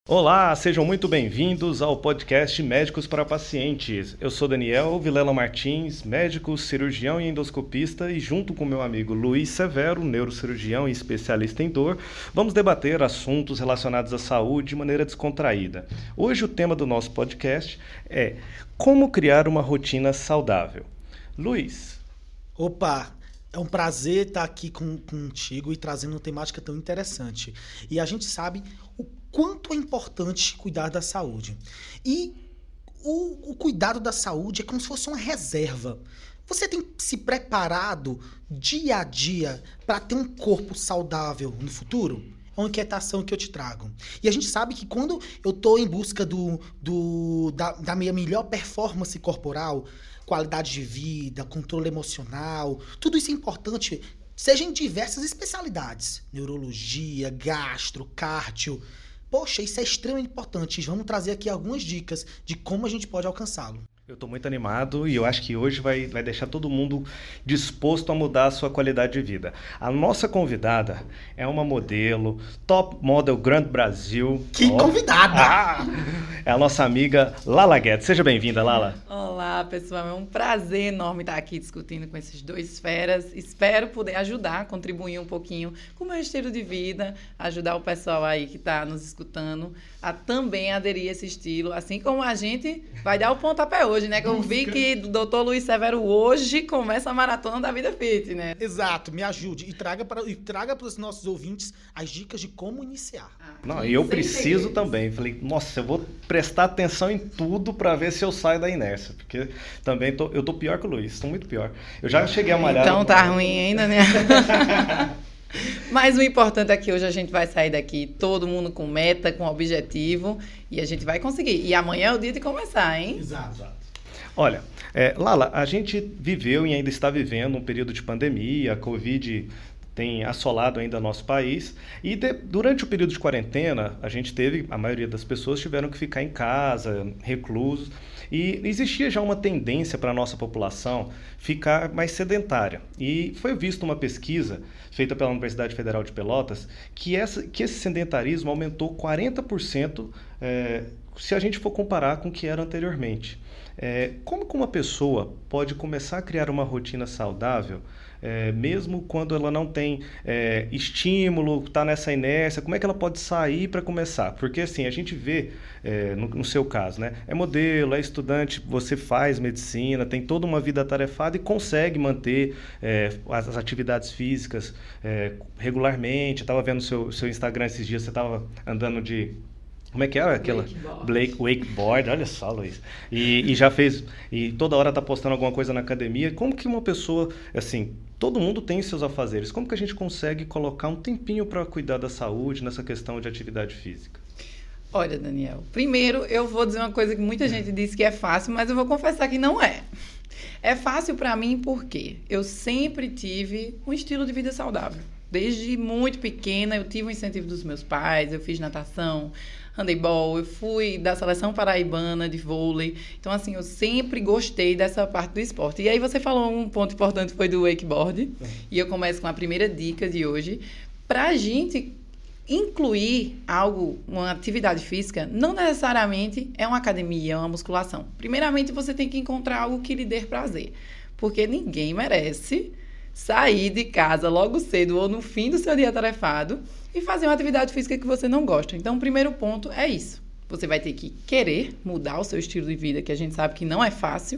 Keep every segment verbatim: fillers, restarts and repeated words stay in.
Olá, sejam muito bem-vindos ao podcast Médicos para Pacientes. Eu sou Daniel Vilela Martins, médico, cirurgião e endoscopista, e junto com meu amigo Luiz Severo, neurocirurgião e especialista em dor, vamos debater assuntos relacionados à saúde de maneira descontraída. Hoje o tema do nosso podcast é como criar uma rotina saudável. Luiz. Opa! É um prazer estar aqui com, contigo e trazendo uma temática tão interessante. E a gente sabe o quanto é importante cuidar da saúde. E o, o cuidado da saúde é como se fosse uma reserva. Você tem se preparado dia a dia para ter um corpo saudável no futuro? É uma inquietação que eu te trago. E a gente sabe que quando eu estou em busca do, do, da, da minha melhor performance corporal, qualidade de vida, controle emocional, tudo isso é importante, seja em diversas especialidades. Neurologia, gastro, cardio. Poxa, isso é extremamente importante. Vamos trazer aqui algumas dicas de como a gente pode alcançá-lo. Eu estou muito animado e eu acho que hoje vai, vai deixar todo mundo disposto a mudar a sua qualidade de vida. A nossa convidada é uma modelo, top model Grand Brasil. Que oh. convidada! Ah, é a nossa amiga Lala Guedes. Seja bem-vinda, Lala. Olá, pessoal. É um prazer enorme estar aqui discutindo com esses dois feras. Espero poder ajudar, contribuir um pouquinho com o meu estilo de vida, ajudar o pessoal aí que está nos escutando a também aderir a esse estilo, assim como a gente vai dar o pontapé hoje, né? Que eu vi que o doutor Luiz Severo hoje começa a maratona da vida fit, né? Exato, me ajude e traga para e traga para os nossos ouvintes as dicas de como iniciar. Ah, Não, e eu preciso segredos. também. Falei, nossa, eu vou prestar atenção em tudo para ver se eu saio da inércia, porque também tô, eu tô pior que o Luiz, tô muito pior. Eu já cheguei a malhar. Então tá ruim ainda, né? Mas o importante é que hoje a gente vai sair daqui todo mundo com meta, com objetivo, e a gente vai conseguir. E amanhã é o dia de começar, hein? Exato. Olha, é, Lala, a gente viveu e ainda está vivendo um período de pandemia, a Covid tem assolado ainda nosso país, e de, durante o período de quarentena, a gente teve, a maioria das pessoas tiveram que ficar em casa, reclusos, e existia já uma tendência para a nossa população ficar mais sedentária. E foi visto uma pesquisa feita pela Universidade Federal de Pelotas que, essa, que esse sedentarismo aumentou quarenta por cento é, se a gente for comparar com o que era anteriormente. É, como que uma pessoa pode começar a criar uma rotina saudável, é, mesmo quando ela não tem é, estímulo, está nessa inércia, como é que ela pode sair para começar? Porque assim, a gente vê, é, no, no seu caso, né, é modelo, é estudante, você faz medicina, tem toda uma vida atarefada e consegue manter é, as, as atividades físicas é, regularmente. Eu estava vendo o seu, seu Instagram esses dias, você estava andando de... Como é que era aquela? Wakeboard. Blake Wakeboard, olha só, Luiz. E, e já fez, e toda hora tá postando alguma coisa na academia. Como que uma pessoa, assim, todo mundo tem seus afazeres, como que a gente consegue colocar um tempinho para cuidar da saúde nessa questão de atividade física? Olha, Daniel, primeiro eu vou dizer uma coisa que muita gente diz que é fácil, mas eu vou confessar que não é. É fácil para mim porque eu sempre tive um estilo de vida saudável. Desde muito pequena eu tive o incentivo dos meus pais, eu fiz natação, handebol, eu fui da seleção paraibana de vôlei. Então, assim, eu sempre gostei dessa parte do esporte. E aí você falou um ponto importante, foi do wakeboard. Uhum. E eu começo com a primeira dica de hoje. Para a gente incluir algo, uma atividade física, não necessariamente é uma academia, é uma musculação. Primeiramente, você tem que encontrar algo que lhe dê prazer. Porque ninguém merece sair de casa logo cedo ou no fim do seu dia atarefado e fazer uma atividade física que você não gosta. Então, o primeiro ponto é isso. Você vai ter que querer mudar o seu estilo de vida, que a gente sabe que não é fácil.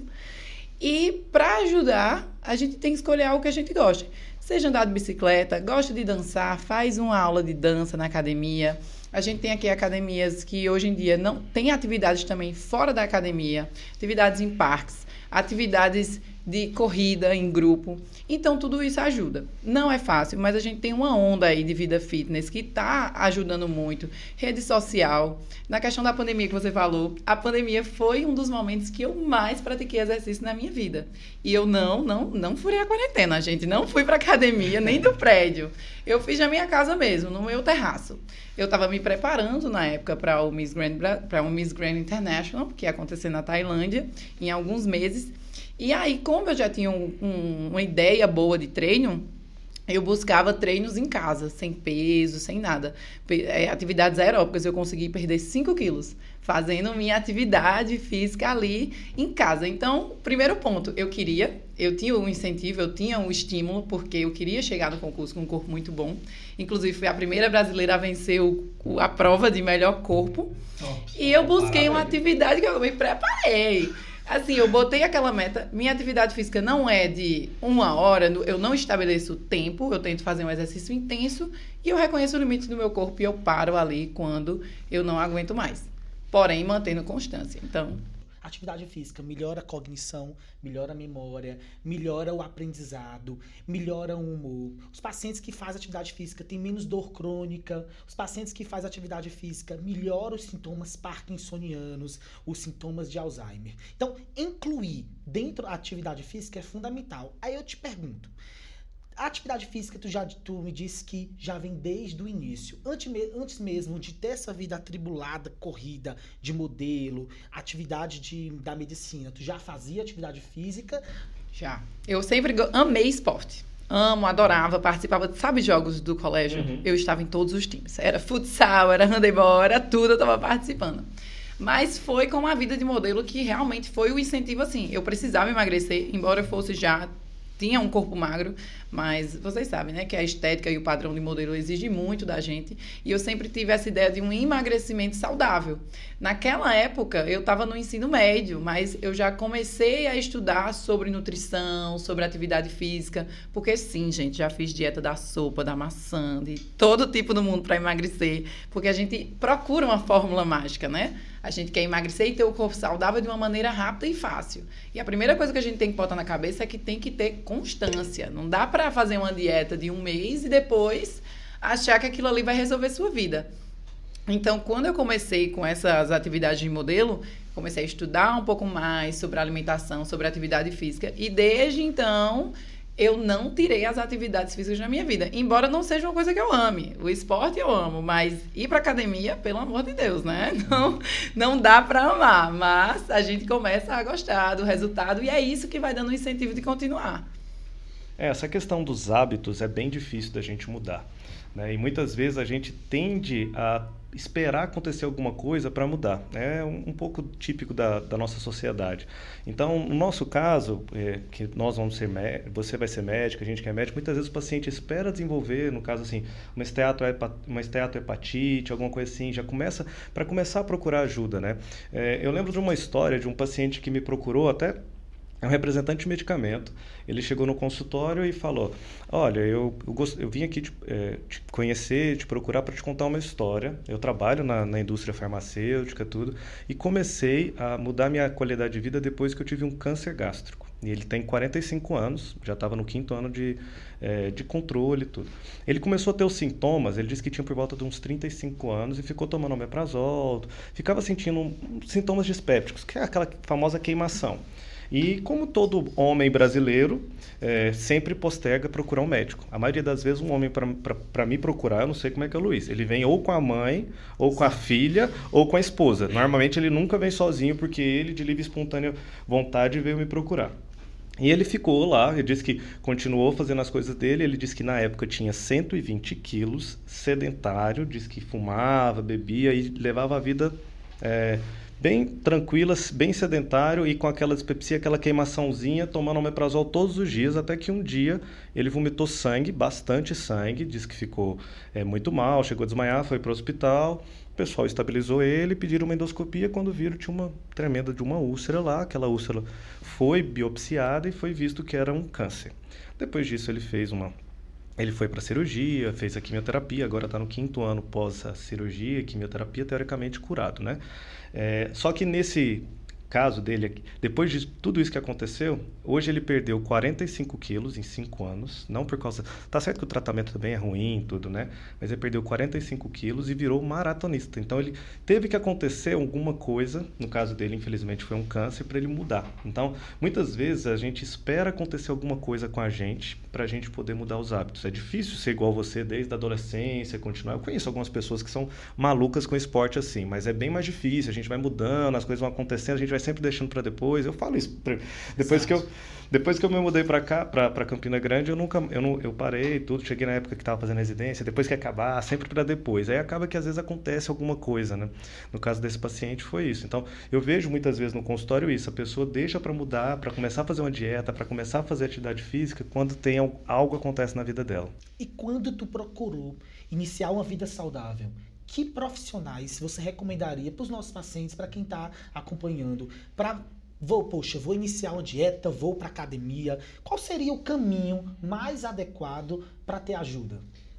E, para ajudar, a gente tem que escolher algo que a gente goste. Seja andar de bicicleta, gosta de dançar, faz uma aula de dança na academia. A gente tem aqui academias que, hoje em dia, não tem atividades também fora da academia, atividades em parques, atividades de corrida em grupo. Então, tudo isso ajuda. Não é fácil, mas a gente tem uma onda aí de vida fitness que está ajudando muito. Rede social. Na questão da pandemia que você falou, a pandemia foi um dos momentos que eu mais pratiquei exercício na minha vida. E eu não, não, não furei a quarentena, gente. Não fui para academia, nem do prédio. Eu fiz na minha casa mesmo, no meu terraço. Eu estava me preparando na época para o Miss Grand, para o Miss Grand International, que ia acontecer na Tailândia, em alguns meses. E aí, como eu já tinha um, um, uma ideia boa de treino, eu buscava treinos em casa, sem peso, sem nada. Pe- é, atividades aeróbicas, eu consegui perder cinco quilos, fazendo minha atividade física ali em casa. Então, primeiro ponto, eu queria, eu tinha um incentivo, eu tinha um estímulo, porque eu queria chegar no concurso com um corpo muito bom. Inclusive, fui a primeira brasileira a vencer o, o- a prova de melhor corpo. Top. E eu busquei uma Parabéns. atividade que eu me preparei. Assim, eu botei aquela meta. Minha atividade física não é de uma hora, eu não estabeleço tempo, eu tento fazer um exercício intenso e eu reconheço o limite do meu corpo e eu paro ali quando eu não aguento mais. Porém, mantendo constância. Então, Atividade física melhora a cognição, melhora a memória, melhora o aprendizado, melhora o humor. Os pacientes que fazem atividade física têm menos dor crônica. Os pacientes que fazem atividade física melhoram os sintomas parkinsonianos, os sintomas de Alzheimer. Então, incluir dentro da atividade física é fundamental. Aí eu te pergunto, a atividade física, tu, já, tu me disse que já vem desde o início. Antes, me- antes mesmo de ter essa vida atribulada, corrida de modelo, atividade de, da medicina, tu já fazia atividade física? já. Eu sempre go- amei esporte. Amo, adorava, participava, sabe, jogos do colégio? Uhum. Eu estava em todos os times. Era futsal, era handebol, era tudo, eu estava participando. Mas foi com a vida de modelo que realmente foi o incentivo, assim. Eu precisava emagrecer, embora eu fosse já... Tinha um corpo magro, mas vocês sabem, né? Que a estética e o padrão de modelo exige muito da gente. E eu sempre tive essa ideia de um emagrecimento saudável. Naquela época, eu estava no ensino médio, mas eu já comecei a estudar sobre nutrição, sobre atividade física. Porque sim, gente, já fiz dieta da sopa, da maçã, de todo tipo do mundo para emagrecer. Porque a gente procura uma fórmula mágica, né? A gente quer emagrecer e ter o corpo saudável de uma maneira rápida e fácil. E a primeira coisa que a gente tem que botar na cabeça é que tem que ter constância. Não dá para fazer uma dieta de um mês e depois achar que aquilo ali vai resolver sua vida. Então, quando eu comecei com essas atividades de modelo, comecei a estudar um pouco mais sobre alimentação, sobre atividade física. E desde então, eu não tirei as atividades físicas na minha vida. Embora não seja uma coisa que eu ame. O esporte eu amo, mas ir pra academia, pelo amor de Deus, né? Não, não dá pra amar. Mas a gente começa a gostar do resultado e é isso que vai dando o incentivo de continuar. É, essa questão dos hábitos é bem difícil da gente mudar, né? E muitas vezes a gente tende a esperar acontecer alguma coisa para mudar. É um, um pouco típico da, da nossa sociedade. Então, no nosso caso, é, que nós vamos ser mé- você vai ser médico, a gente que é médico, muitas vezes o paciente espera desenvolver, no caso assim, uma esteatohepa- uma esteatohepatite, alguma coisa assim, já começa para começar a procurar ajuda, né? É, eu lembro de uma história de um paciente que me procurou até. É um representante de medicamento. Ele chegou no consultório e falou: olha, eu, eu, gost... eu vim aqui te, é, te conhecer, te procurar para te contar uma história. Eu trabalho na, na indústria farmacêutica, tudo, e comecei a mudar minha qualidade de vida depois que eu tive um câncer gástrico. E ele tem quarenta e cinco anos, já estava no quinto ano de, é, de controle e tudo. Ele começou a ter os sintomas, ele disse que tinha por volta de uns trinta e cinco anos e ficou tomando omeprazol, ficava sentindo um, sintomas dispépticos, que é aquela famosa queimação. E como todo homem brasileiro, é, sempre posterga procurar um médico. A maioria das vezes um homem para me procurar, eu não sei como é que é o Luiz, ele vem ou com a mãe, ou com a filha, ou com a esposa. Normalmente ele nunca vem sozinho, porque ele, de livre e espontânea vontade, veio me procurar. E ele ficou lá, ele disse que continuou fazendo as coisas dele, ele disse que na época tinha cento e vinte quilos, sedentário, disse que fumava, bebia e levava a vida... É, bem tranquila, bem sedentário e com aquela dispepsia, aquela queimaçãozinha, tomando omeprazol todos os dias, até que um dia ele vomitou sangue, bastante sangue, disse que ficou é, muito mal, chegou a desmaiar, foi para o hospital, o pessoal estabilizou ele, pediram uma endoscopia, quando viram tinha uma tremenda de uma úlcera lá, aquela úlcera foi biopsiada e foi visto que era um câncer. Depois disso ele fez uma... Ele foi para a cirurgia, fez a quimioterapia, agora está no quinto ano pós a cirurgia, quimioterapia, teoricamente curado, né? É, só que nesse caso dele, depois de tudo isso que aconteceu, hoje ele perdeu quarenta e cinco quilos em cinco anos, não por causa... Tá certo que o tratamento também é ruim, tudo, né? Mas ele perdeu quarenta e cinco quilos e virou maratonista. Então ele teve que acontecer alguma coisa, no caso dele, infelizmente, foi um câncer, para ele mudar. Então, muitas vezes a gente espera acontecer alguma coisa com a gente para a gente poder mudar os hábitos. É difícil ser igual você desde a adolescência, continuar. Eu conheço algumas pessoas que são malucas com esporte assim, mas é bem mais difícil, a gente vai mudando, as coisas vão acontecendo, a gente vai sempre deixando para depois. Eu falo isso, depois que eu, depois que eu me mudei para cá, para Campina Grande, eu nunca, eu, não, eu parei tudo, cheguei na época que estava fazendo residência, depois que acabar, sempre para depois. Aí acaba que às vezes acontece alguma coisa, né? No caso desse paciente foi isso. Então, eu vejo muitas vezes no consultório isso, a pessoa deixa para mudar, para começar a fazer uma dieta, para começar a fazer atividade física, quando tem algo, algo acontece na vida dela. E quando tu procurou iniciar uma vida saudável, que profissionais você recomendaria para os nossos pacientes, para quem está acompanhando, para vou, poxa, vou iniciar uma dieta, vou para academia, qual seria o caminho mais adequado para ter ajuda?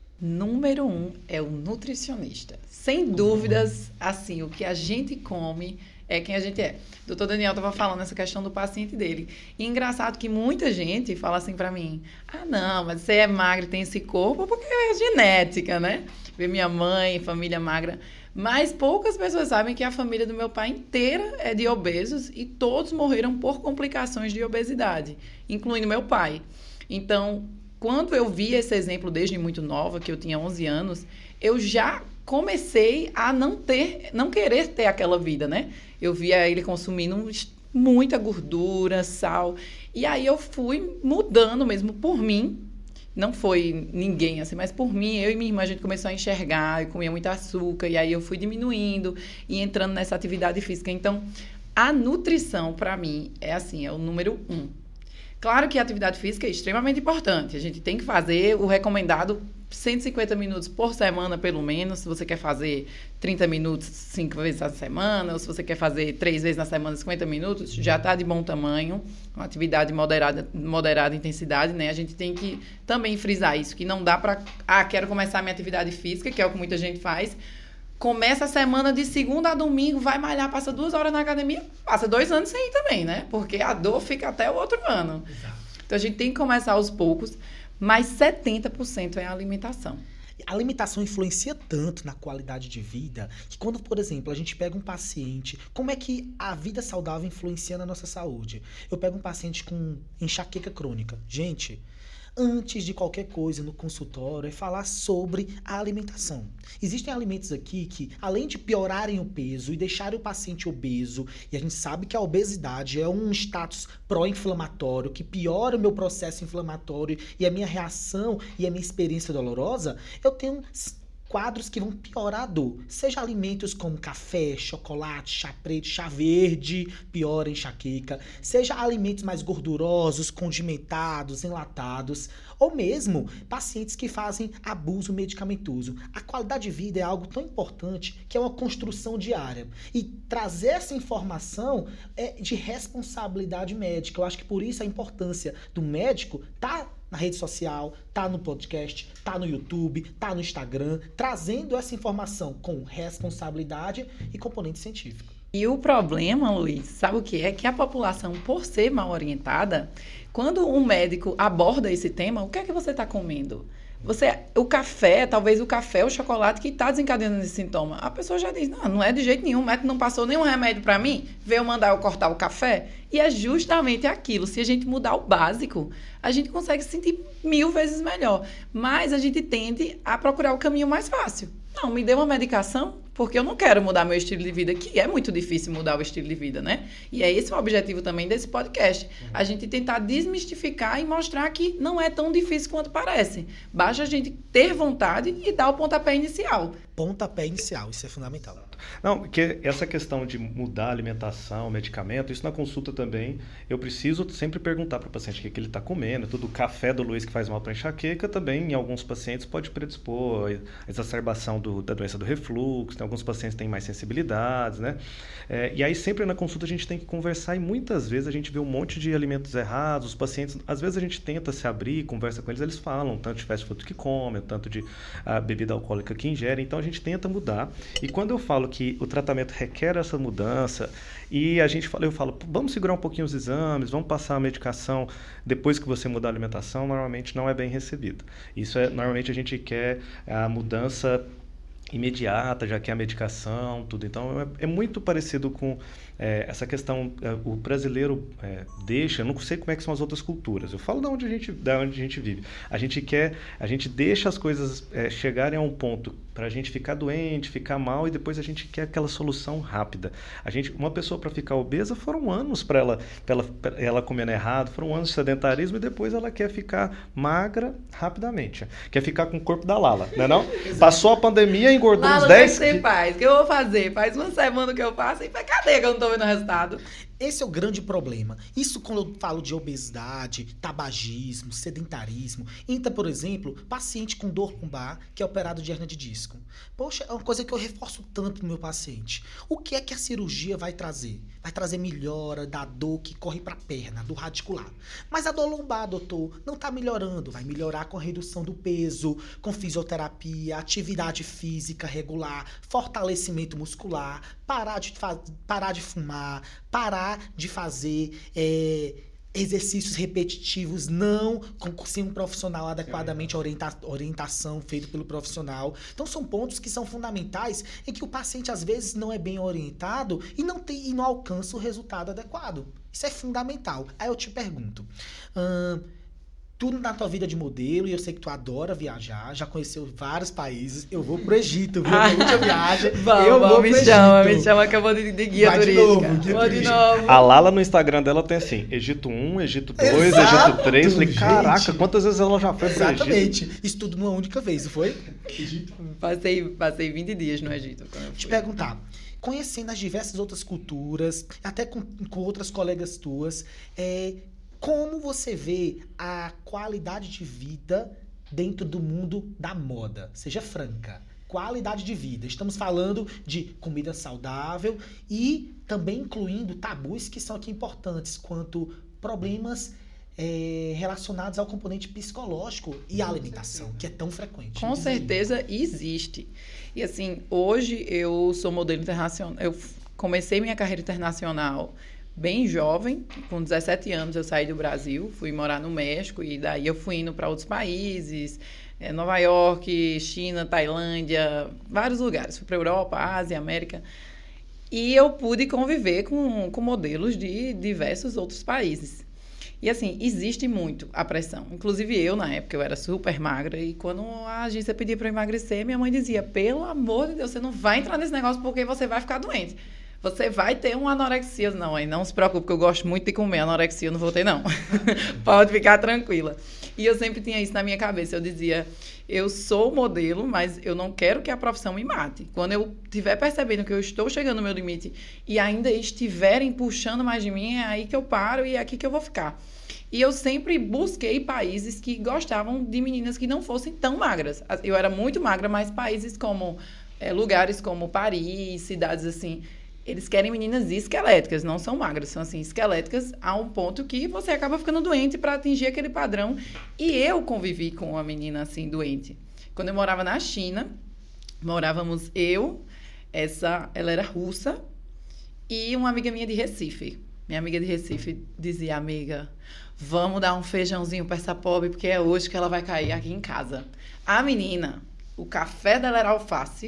Número um é o nutricionista. Sem dúvidas, assim, o que a gente come é quem a gente é. O doutor Daniel estava falando essa questão do paciente dele. E engraçado que muita gente fala assim para mim, ah, não, mas você é magra e tem esse corpo porque é genética, né? Ver minha mãe, família magra. Mas poucas pessoas sabem que a família do meu pai inteira é de obesos e todos morreram por complicações de obesidade, incluindo meu pai. Então, quando eu vi esse exemplo desde muito nova, que eu tinha onze anos, eu já comecei a não ter, não querer ter aquela vida, né? Eu via ele consumindo muita gordura, sal, e aí eu fui mudando mesmo por mim. Não foi ninguém, assim, mas por mim, eu e minha irmã, a gente começou a enxergar, eu comia muito açúcar, e aí eu fui diminuindo e entrando nessa atividade física. Então, a nutrição, para mim, é assim, é o número um. Claro que a atividade física é extremamente importante. A gente tem que fazer o recomendado cento e cinquenta minutos por semana, pelo menos. Se você quer fazer trinta minutos cinco vezes na semana, ou se você quer fazer três vezes na semana cinquenta minutos, já está de bom tamanho. Uma atividade moderada, moderada intensidade, né? A gente tem que também frisar isso, que não dá para... Ah, quero começar a minha atividade física, que é o que muita gente faz. Começa a semana de segunda a domingo, vai malhar, passa duas horas na academia, passa dois anos sem ir também, né? Porque a dor fica até o outro ano. Exato. Então, a gente tem que começar aos poucos, mas setenta por cento é a alimentação. A alimentação influencia tanto na qualidade de vida que quando, por exemplo, a gente pega um paciente, como é que a vida saudável influencia na nossa saúde? Eu pego um paciente com enxaqueca crônica. Gente, antes de qualquer coisa no consultório, é falar sobre a alimentação. Existem alimentos aqui que, além de piorarem o peso e deixarem o paciente obeso, e a gente sabe que a obesidade é um status pró-inflamatório, que piora o meu processo inflamatório e a minha reação e a minha experiência dolorosa, eu tenho quadros que vão piorar a dor. Seja alimentos como café, chocolate, chá preto, chá verde, piora a enxaqueca. Seja alimentos mais gordurosos, condimentados, enlatados. Ou mesmo pacientes que fazem abuso medicamentoso. A qualidade de vida é algo tão importante que é uma construção diária. E trazer essa informação é de responsabilidade médica. Eu acho que por isso a importância do médico tá na rede social, tá no podcast, tá no YouTube, tá no Instagram, trazendo essa informação com responsabilidade e componente científico. E o problema, Luiz, sabe o que é? Que a população, por ser mal orientada, quando um médico aborda esse tema, o que é que você está comendo? Você, o café, talvez o café, o chocolate que está desencadeando esse sintoma. A pessoa já diz, não, não é de jeito nenhum, o médico não passou nenhum remédio para mim, veio mandar eu cortar o café. E é justamente aquilo, se a gente mudar o básico, a gente consegue se sentir mil vezes melhor. Mas a gente tende a procurar o caminho mais fácil. Não, me dê uma medicação, porque eu não quero mudar meu estilo de vida, que é muito difícil mudar o estilo de vida, né? E é esse o objetivo também desse podcast. A gente tentar desmistificar e mostrar que não é tão difícil quanto parece. Basta a gente ter vontade e dar o pontapé inicial. Pontapé inicial, isso é fundamental. Não, porque essa questão de mudar a alimentação, medicamento, isso na consulta também, eu preciso sempre perguntar para o paciente o que, que ele está comendo. Tudo o café do Luiz que faz mal para enxaqueca também, em alguns pacientes, pode predispor a exacerbação do, da doença do refluxo. Tem alguns pacientes que têm mais sensibilidades, né? É, e aí sempre na consulta a gente tem que conversar e muitas vezes a gente vê um monte de alimentos errados. Os pacientes, às vezes a gente tenta se abrir, conversa com eles, eles falam tanto de fast food que comem, tanto de a, bebida alcoólica que ingerem. Então a gente tenta mudar. E quando eu falo que o tratamento requer essa mudança e a gente fala, eu falo, vamos segurar um pouquinho os exames, vamos passar a medicação depois que você mudar a alimentação, normalmente não é bem recebido. Isso é, normalmente a gente quer a mudança imediata, já quer a medicação, tudo. Então, é, é muito parecido com é, essa questão. É, o brasileiro é, deixa, eu não sei como é que são as outras culturas. Eu falo de onde a gente, de onde a gente vive. A gente quer, a gente deixa as coisas é, chegarem a um ponto para a gente ficar doente, ficar mal, e depois a gente quer aquela solução rápida. A gente, uma pessoa para ficar obesa foram anos para ela, pra ela, pra ela comendo errado, foram anos de sedentarismo, e depois ela quer ficar magra rapidamente. Quer ficar com o corpo da Lala, não é não? Passou a pandemia, engordou Lala, uns dez... O que você faz? O que eu vou fazer? Faz uma semana que eu faço e cadê que eu não tô vendo o resultado? Esse é o grande problema. Isso quando eu falo de obesidade, tabagismo, sedentarismo. Entra, por exemplo, paciente com dor lombar que é operado de hérnia de disco. Poxa, é uma coisa que eu reforço tanto no meu paciente. O que é que a cirurgia vai trazer? Vai trazer melhora da dor que corre para a perna, do radicular. Mas a dor lombar, doutor, não está melhorando. Vai melhorar com a redução do peso, com fisioterapia, atividade física regular, fortalecimento muscular, parar de, parar de fumar, parar de fazer é, exercícios repetitivos, não com, sem um profissional adequadamente orienta, orientação feita pelo profissional. Então são pontos que são fundamentais em que o paciente às vezes não é bem orientado e não, tem, e não alcança o resultado adequado. Isso é fundamental. Aí eu te pergunto, hum, tudo na tua vida de modelo, e eu sei que tu adora viajar, já conheceu vários países. Eu vou pro Egito, viu? Na última viagem, vamos, eu vou vamos, pro me Egito. chama, me chama que eu vou de, de guia Vai de turística. novo, guia vou de turística. novo. A Lala no Instagram dela tem assim, Egito um, Egito dois, Exato, Egito três. Falei, gente. caraca, quantas vezes ela já foi pro Egito? Exatamente. Isso tudo numa única vez, não foi? Egito. Passei, passei vinte dias no Egito. Quando eu fui. Te perguntar, conhecendo as diversas outras culturas, até com, com outras colegas tuas, é, como você vê a qualidade de vida dentro do mundo da moda? Seja franca. Qualidade de vida. Estamos falando de comida saudável e também incluindo tabus que são aqui importantes, quanto problemas é, relacionados ao componente psicológico e à alimentação, que é tão frequente. Com certeza existe. E assim, hoje eu sou modelo internacional. Eu comecei minha carreira internacional bem jovem, com dezessete anos eu saí do Brasil, fui morar no México e daí eu fui indo para outros países, é, Nova York, China, Tailândia, vários lugares. Fui para Europa, Ásia, América. E eu pude conviver com, com modelos de diversos outros países. E assim, existe muito a pressão. Inclusive eu, na época, eu era super magra e quando a agência pedia para eu emagrecer, minha mãe dizia, pelo amor de Deus, você não vai entrar nesse negócio porque você vai ficar doente. Você vai ter uma anorexia. Não, aí não se preocupe, porque eu gosto muito de comer. Anorexia eu não vou ter, não. Pode ficar tranquila. E eu sempre tinha isso na minha cabeça. Eu dizia, eu sou modelo, mas eu não quero que a profissão me mate. Quando eu estiver percebendo que eu estou chegando no meu limite e ainda estiverem puxando mais de mim, é aí que eu paro e é aqui que eu vou ficar. E eu sempre busquei países que gostavam de meninas que não fossem tão magras. Eu era muito magra, mas países como... É, lugares como Paris, cidades assim... Eles querem meninas esqueléticas, não são magras, são assim, esqueléticas a um ponto que você acaba ficando doente para atingir aquele padrão. E eu convivi com uma menina assim, doente. Quando eu morava na China, morávamos eu, essa, ela era russa, e uma amiga minha de Recife. Minha amiga de Recife dizia, amiga, vamos dar um feijãozinho para essa pobre, porque é hoje que ela vai cair aqui em casa. A menina, o café dela era alface,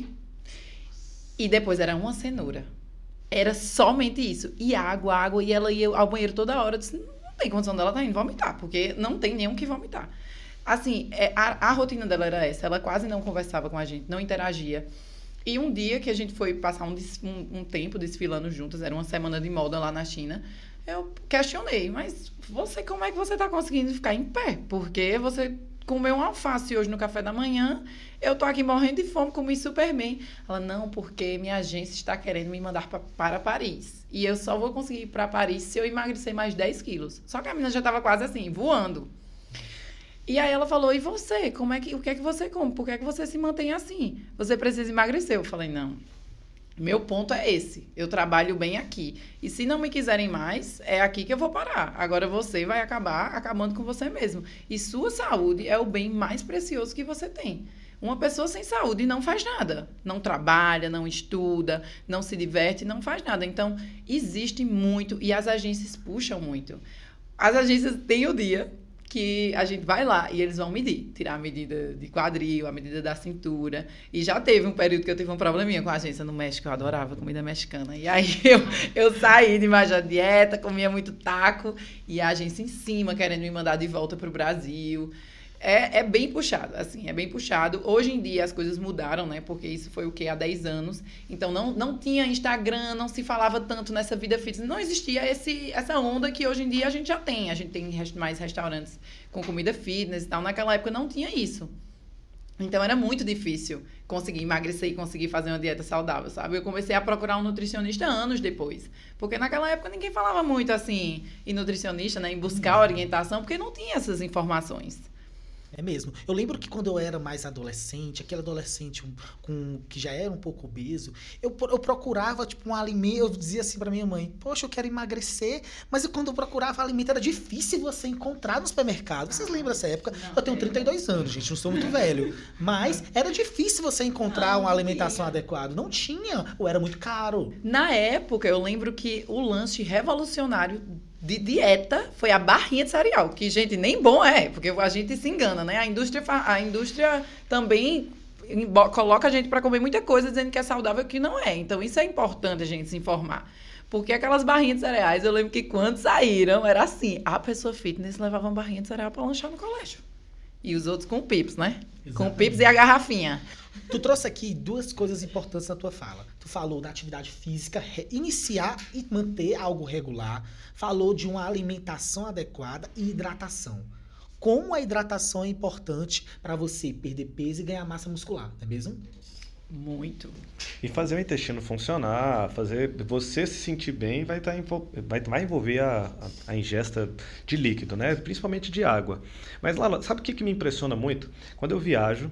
e depois era uma cenoura. Era somente isso. E água, água. E ela ia ao banheiro toda hora. Eu disse, não tem condição dela estar indo vomitar. Porque não tem nenhum que vomitar. Assim, é, a, a rotina dela era essa. Ela quase não conversava com a gente. Não interagia. E um dia que a gente foi passar um, um, um tempo desfilando juntas. Era uma semana de moda lá na China. Eu questionei. Mas você, como é que você está conseguindo ficar em pé? Porque você... comeu um alface hoje no café da manhã, eu tô aqui morrendo de fome, comi super bem. Ela, não, porque minha agência está querendo me mandar pra, para Paris. E eu só vou conseguir ir para Paris se eu emagrecer mais dez quilos. Só que a menina já estava quase assim, voando. E aí ela falou, e você? Como é que, o que é que você come? Por que é que você se mantém assim? Você precisa emagrecer. Eu falei, não. Meu ponto é esse. Eu trabalho bem aqui. E se não me quiserem mais, é aqui que eu vou parar. Agora você vai acabar acabando com você mesmo. E sua saúde é o bem mais precioso que você tem. Uma pessoa sem saúde não faz nada. Não trabalha, não estuda, não se diverte, não faz nada. Então, existe muito e as agências puxam muito. As agências têm o dia que a gente vai lá e eles vão medir, tirar a medida de quadril, a medida da cintura. E já teve um período que eu tive um probleminha com a agência no México, eu adorava comida mexicana. E aí eu, eu saí de mais a dieta, comia muito taco, e a agência em cima querendo me mandar de volta pro Brasil. É, é bem puxado, assim, é bem puxado. Hoje em dia as coisas mudaram, né? Porque isso foi o quê? Há dez anos. Então não, não tinha Instagram, não se falava tanto nessa vida fitness. Não existia esse, essa onda que hoje em dia a gente já tem. A gente tem mais restaurantes com comida fitness e tal. Naquela época não tinha isso. Então era muito difícil conseguir emagrecer e conseguir fazer uma dieta saudável, sabe? Eu comecei a procurar um nutricionista anos depois. Porque naquela época ninguém falava muito assim, em nutricionista, né? Em buscar orientação, porque não tinha essas informações. É mesmo. Eu lembro que quando eu era mais adolescente, aquele adolescente um, com, que já era um pouco obeso, eu, eu procurava, tipo, um alimento, eu dizia assim pra minha mãe, poxa, eu quero emagrecer, mas quando eu procurava alimento era difícil você encontrar no supermercado. Vocês lembram dessa época? Não, eu tenho trinta e dois anos, gente, não sou muito velho. Mas era difícil você encontrar não, uma alimentação tinha. adequada. Não tinha, ou era muito caro. Na época, eu lembro que o lanche revolucionário de dieta foi a barrinha de cereal, que, gente, nem bom é, porque a gente se engana, né? A indústria, a indústria também coloca a gente para comer muita coisa dizendo que é saudável, que não é. Então, isso é importante a gente se informar. Porque aquelas barrinhas de cereais, eu lembro que quando saíram, era assim, a pessoa fitness levava uma barrinha de cereal para lanchar no colégio. E os outros com pips, né? Exatamente. Com pips e a garrafinha. Tu trouxe aqui duas coisas importantes na tua fala. Tu falou da atividade física, iniciar e manter algo regular. Falou de uma alimentação adequada e hidratação. Como a hidratação é importante para você perder peso e ganhar massa muscular, não é mesmo? Muito. E fazer o intestino funcionar, fazer você se sentir bem, vai, tá, vai, vai envolver a, a, a ingesta de líquido, né? Principalmente de água. Mas, Lala, sabe o que, que me impressiona muito? Quando eu viajo,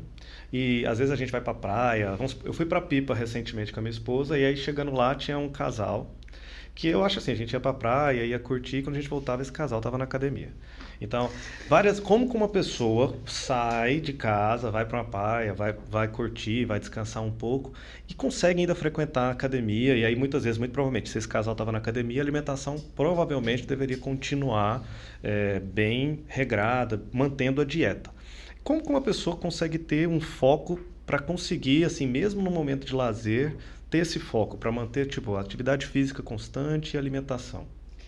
e às vezes a gente vai pra praia, vamos, eu fui pra Pipa recentemente com a minha esposa, e aí chegando lá tinha um casal, que eu acho assim, a gente ia pra praia, ia curtir, e quando a gente voltava, esse casal tava na academia. Então, várias, como que uma pessoa sai de casa, vai para uma praia, vai, vai curtir, vai descansar um pouco e consegue ainda frequentar a academia. E aí, muitas vezes, muito provavelmente, se esse casal estava na academia, a alimentação provavelmente deveria continuar é, bem regrada, mantendo a dieta. Como que uma pessoa consegue ter um foco para conseguir, assim, mesmo no momento de lazer, ter esse foco para manter, tipo, atividade física constante e alimentação?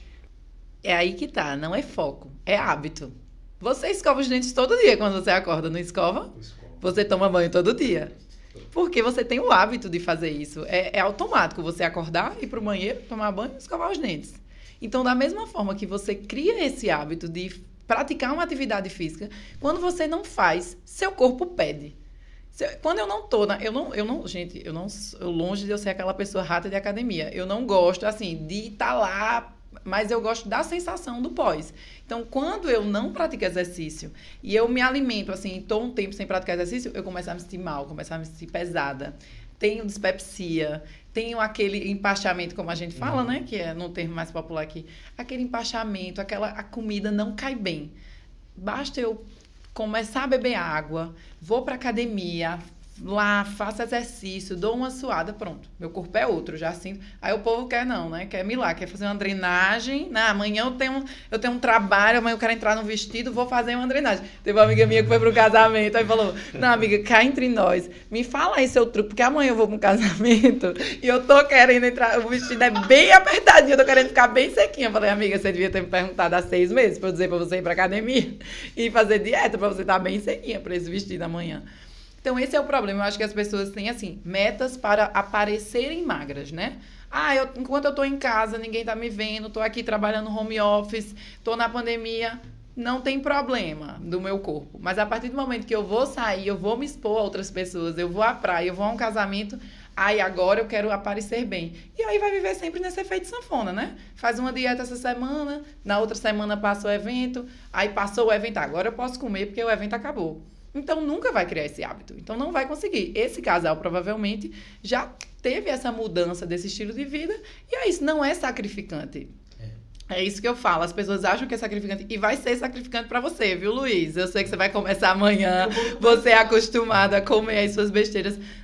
É aí que tá, não é foco, é hábito. Você escova os dentes todo dia quando você acorda, não escova? Você toma banho todo dia. Porque você tem o hábito de fazer isso. É, é automático você acordar, ir pro banheiro, tomar banho e escovar os dentes. Então, da mesma forma que você cria esse hábito de praticar uma atividade física, quando você não faz, seu corpo pede. Quando eu não tô, na, eu não, eu não, gente, eu não, eu, longe de eu ser aquela pessoa rata de academia. Eu não gosto, assim, de estar lá, mas eu gosto da sensação do pós. Então, quando eu não pratico exercício e eu me alimento, assim, estou um tempo sem praticar exercício, eu começo a me sentir mal, começo a me sentir pesada. Tenho dispepsia, tenho aquele empachamento, como a gente fala, uhum. né? Que é no termo mais popular aqui. Aquele empachamento, aquela, a comida não cai bem. Basta eu começar a beber água, vou para academia, lá, faço exercício, dou uma suada, pronto. Meu corpo é outro, já sinto. Aí o povo quer não, né? Quer me lá, quer fazer uma drenagem. Não, amanhã eu tenho, eu tenho um trabalho, amanhã eu quero entrar no vestido, vou fazer uma drenagem. Teve uma amiga minha que foi pro casamento, aí falou, não, amiga, cá entre nós, me fala aí seu truque, porque amanhã eu vou pro casamento e eu tô querendo entrar, o vestido é bem apertadinho, eu tô querendo ficar bem sequinha. Eu falei, amiga, você devia ter me perguntado há seis meses pra eu dizer pra você ir pra academia e fazer dieta pra você estar bem sequinha pra esse vestido amanhã. Então, esse é o problema. Eu acho que as pessoas têm, assim, metas para aparecerem magras, né? Ah, eu, enquanto eu tô em casa, ninguém tá me vendo, tô aqui trabalhando home office, tô na pandemia, não tem problema do meu corpo. Mas a partir do momento que eu vou sair, eu vou me expor a outras pessoas, eu vou à praia, eu vou a um casamento, aí agora eu quero aparecer bem. E aí vai viver sempre nesse efeito sanfona, né? Faz uma dieta essa semana, na outra semana passa o evento, aí passou o evento, agora eu posso comer porque o evento acabou. Então, nunca vai criar esse hábito. Então, não vai conseguir. Esse casal, provavelmente, já teve essa mudança desse estilo de vida. E é isso, não é sacrificante. É. É isso que eu falo. As pessoas acham que é sacrificante. E vai ser sacrificante pra você, viu, Luiz? Eu sei que você vai começar amanhã. Você é acostumado a comer as suas besteiras.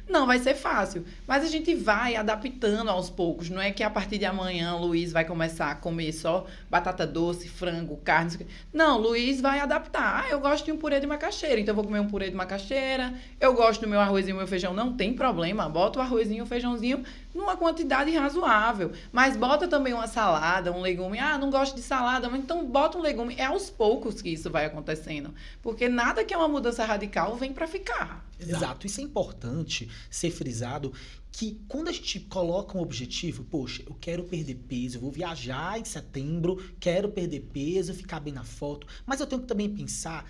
Não vai ser fácil, mas a gente vai adaptando aos poucos. Não é que a partir de amanhã o Luiz vai começar a comer só batata doce, frango, carne. Não, o Luiz vai adaptar. Ah, eu gosto de um purê de macaxeira, então eu vou comer um purê de macaxeira. Eu gosto do meu arrozinho e meu feijão, não tem problema. Bota o arrozinho e o feijãozinho numa quantidade razoável. Mas bota também uma salada, um legume. Ah, não gosto de salada, mas então bota um legume. É aos poucos que isso vai acontecendo. Porque nada que é uma mudança radical vem para ficar. Exato. Isso é importante ser frisado, que quando a gente coloca um objetivo, poxa, eu quero perder peso, eu vou viajar em setembro, quero perder peso, ficar bem na foto, mas eu tenho que também pensar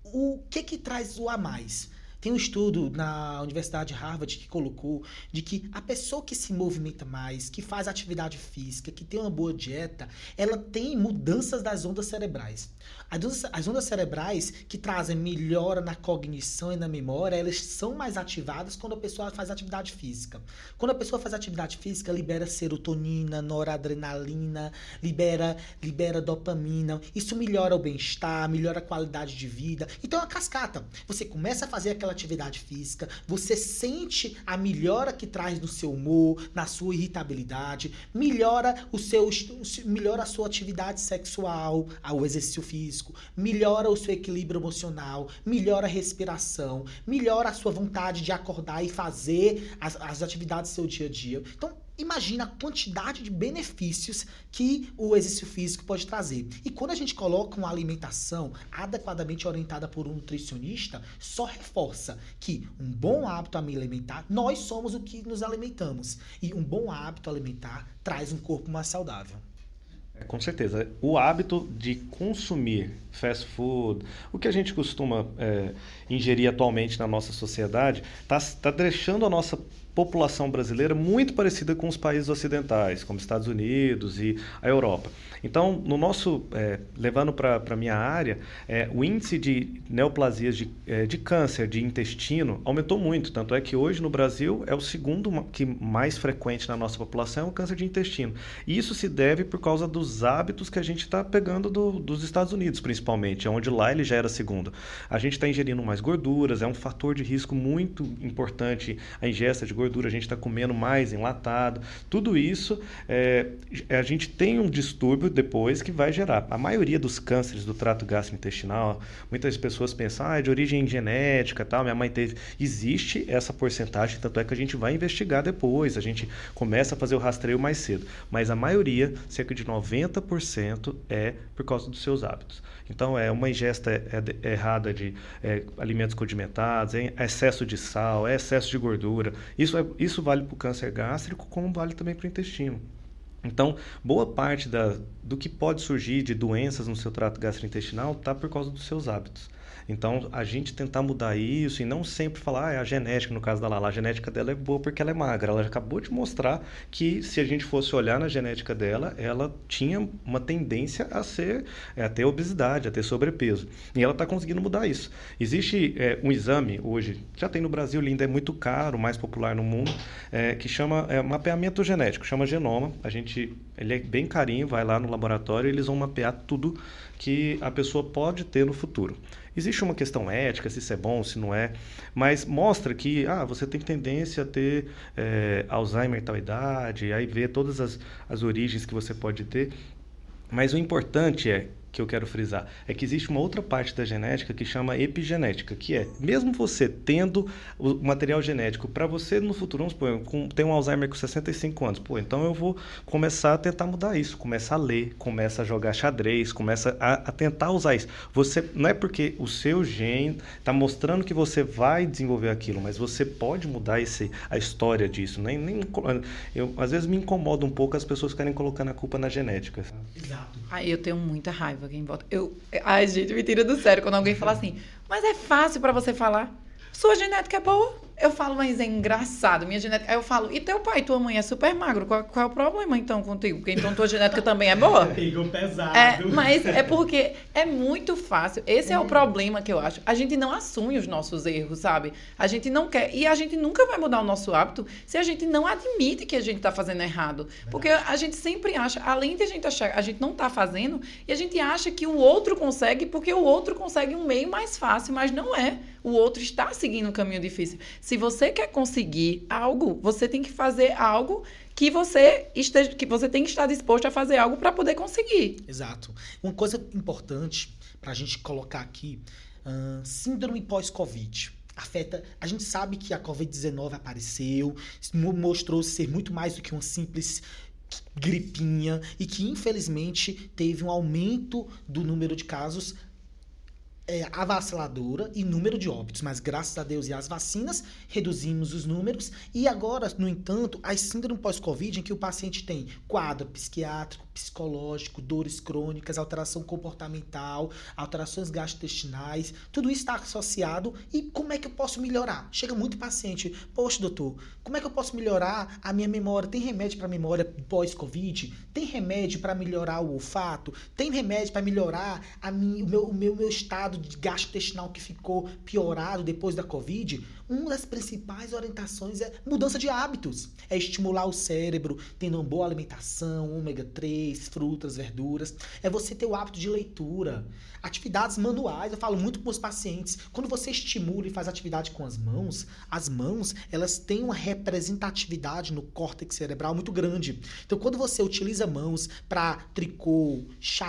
o que que traz o a mais. Tem um estudo na Universidade de Harvard que colocou de que a pessoa que se movimenta mais, que faz atividade física, que tem uma boa dieta, ela tem mudanças das ondas cerebrais. As ondas cerebrais que trazem melhora na cognição e na memória, elas são mais ativadas quando a pessoa faz atividade física. Quando a pessoa faz atividade física, libera serotonina, noradrenalina, libera, libera dopamina. Isso melhora o bem-estar, melhora a qualidade de vida. Então é uma cascata. Você começa a fazer aquela atividade física, você sente a melhora que traz no seu humor, na sua irritabilidade, melhora o seu, melhora a sua atividade sexual, o exercício físico, melhora o seu equilíbrio emocional, melhora a respiração, melhora a sua vontade de acordar e fazer as, as atividades do seu dia a dia. Então, imagina a quantidade de benefícios que o exercício físico pode trazer. E quando a gente coloca uma alimentação adequadamente orientada por um nutricionista, só reforça que um bom hábito alimentar, nós somos o que nos alimentamos. E um bom hábito alimentar traz um corpo mais saudável. Com certeza. O hábito de consumir fast food, o que a gente costuma é, ingerir atualmente na nossa sociedade, está tá deixando a nossa população brasileira muito parecida com os países ocidentais, como Estados Unidos e a Europa. Então, no nosso, é, levando para a minha área, é, o índice de neoplasias de, é, de câncer de intestino aumentou muito, tanto é que hoje no Brasil é o segundo que mais frequente na nossa população, é o câncer de intestino. E isso se deve por causa dos hábitos que a gente está pegando do, dos Estados Unidos, principalmente, onde lá ele já era segundo. A gente está ingerindo mais gorduras, é um fator de risco muito importante a ingesta de gordura, a gente está comendo mais enlatado, tudo isso é, a gente tem um distúrbio depois que vai gerar. A maioria dos cânceres do trato gastrointestinal, muitas pessoas pensam, ah, é de origem genética, tal, minha mãe teve. Existe essa porcentagem, tanto é que a gente vai investigar depois, a gente começa a fazer o rastreio mais cedo, mas a maioria, cerca de noventa por cento, é por causa dos seus hábitos. Então, é uma ingesta errada de é, alimentos condimentados, é excesso de sal, é excesso de gordura. Isso, é, isso vale para o câncer gástrico, como vale também para o intestino. Então, boa parte da, do que pode surgir de doenças no seu trato gastrointestinal está por causa dos seus hábitos. Então, a gente tentar mudar isso e não sempre falar, ah, é a genética, no caso da Lala, a genética dela é boa porque ela é magra. Ela acabou de mostrar que, se a gente fosse olhar na genética dela, ela tinha uma tendência a ser, a ter obesidade, a ter sobrepeso. E ela está conseguindo mudar isso. Existe é, um exame hoje, já tem no Brasil, ainda é muito caro, mais popular no mundo, é, que chama é, mapeamento genético, chama genoma. A gente, ele é bem carinho, vai lá no laboratório e eles vão mapear tudo que a pessoa pode ter no futuro. Existe uma questão ética, se isso é bom, se não é, mas mostra que ah, você tem tendência a ter é, Alzheimer em tal idade, aí vê todas as, as origens que você pode ter, mas o importante é, que eu quero frisar, é que existe uma outra parte da genética que chama epigenética, que é, mesmo você tendo o material genético, para você no futuro, vamos supor, com, tem um Alzheimer com sessenta e cinco anos, pô, então eu vou começar a tentar mudar isso, começar a ler, começa a jogar xadrez, começa a, a tentar usar isso. Você, não é porque o seu gene está mostrando que você vai desenvolver aquilo, mas você pode mudar esse, a história disso. Nem, nem, eu, às vezes me incomoda um pouco as pessoas ficarem colocando a culpa na genética. Exato. Ah, eu tenho muita raiva quem vota. Eu, ai, gente, me tira do sério quando alguém fala assim, mas é fácil pra você falar. Sua genética é boa. Eu falo, mas é engraçado, minha genética... Aí eu falo, e teu pai e tua mãe é super magro, qual, qual é o problema então contigo? Porque então tua genética também é boa? Pegou pesado. É, mas é porque é muito fácil. Esse é o problema que eu acho. A gente não assume os nossos erros, sabe? A gente não quer... E a gente nunca vai mudar o nosso hábito se a gente não admite que a gente tá fazendo errado. Porque a gente sempre acha, além de a gente achar, a gente não tá fazendo, e a gente acha que o outro consegue porque o outro consegue um meio mais fácil, mas não é. o outro está seguindo um caminho difícil. Se você quer conseguir algo, você tem que fazer algo que você, esteja, que você tem que estar disposto a fazer algo para poder conseguir. Exato. Uma coisa importante para a gente colocar aqui, uh, síndrome pós-Covid. Afeta, a gente sabe que a covid dezenove apareceu, mostrou ser muito mais do que uma simples gripinha e que, infelizmente, teve um aumento do número de casos é, avassaladora e número de óbitos, mas graças a Deus e às vacinas reduzimos os números e agora, no entanto, a síndrome pós-Covid em que o paciente tem quadro psiquiátrico, psicológico, dores crônicas, alteração comportamental, alterações gastrointestinais, tudo isso está associado. E como é que eu posso melhorar? Chega muito paciente, poxa doutor, como é que eu posso melhorar a minha memória? Tem remédio para memória pós-Covid? Tem remédio para melhorar o olfato? Tem remédio para melhorar a minha, o, meu, o meu, meu estado de gastrointestinal que ficou piorado depois da Covid? Uma das principais orientações é mudança de hábitos. É estimular o cérebro, tendo uma boa alimentação, ômega três, frutas, verduras. É você ter o hábito de leitura. Atividades manuais, eu falo muito para os pacientes. Quando você estimula e faz atividade com as mãos, as mãos, elas têm uma representatividade no córtex cerebral muito grande. Então, quando você utiliza mãos para tricô,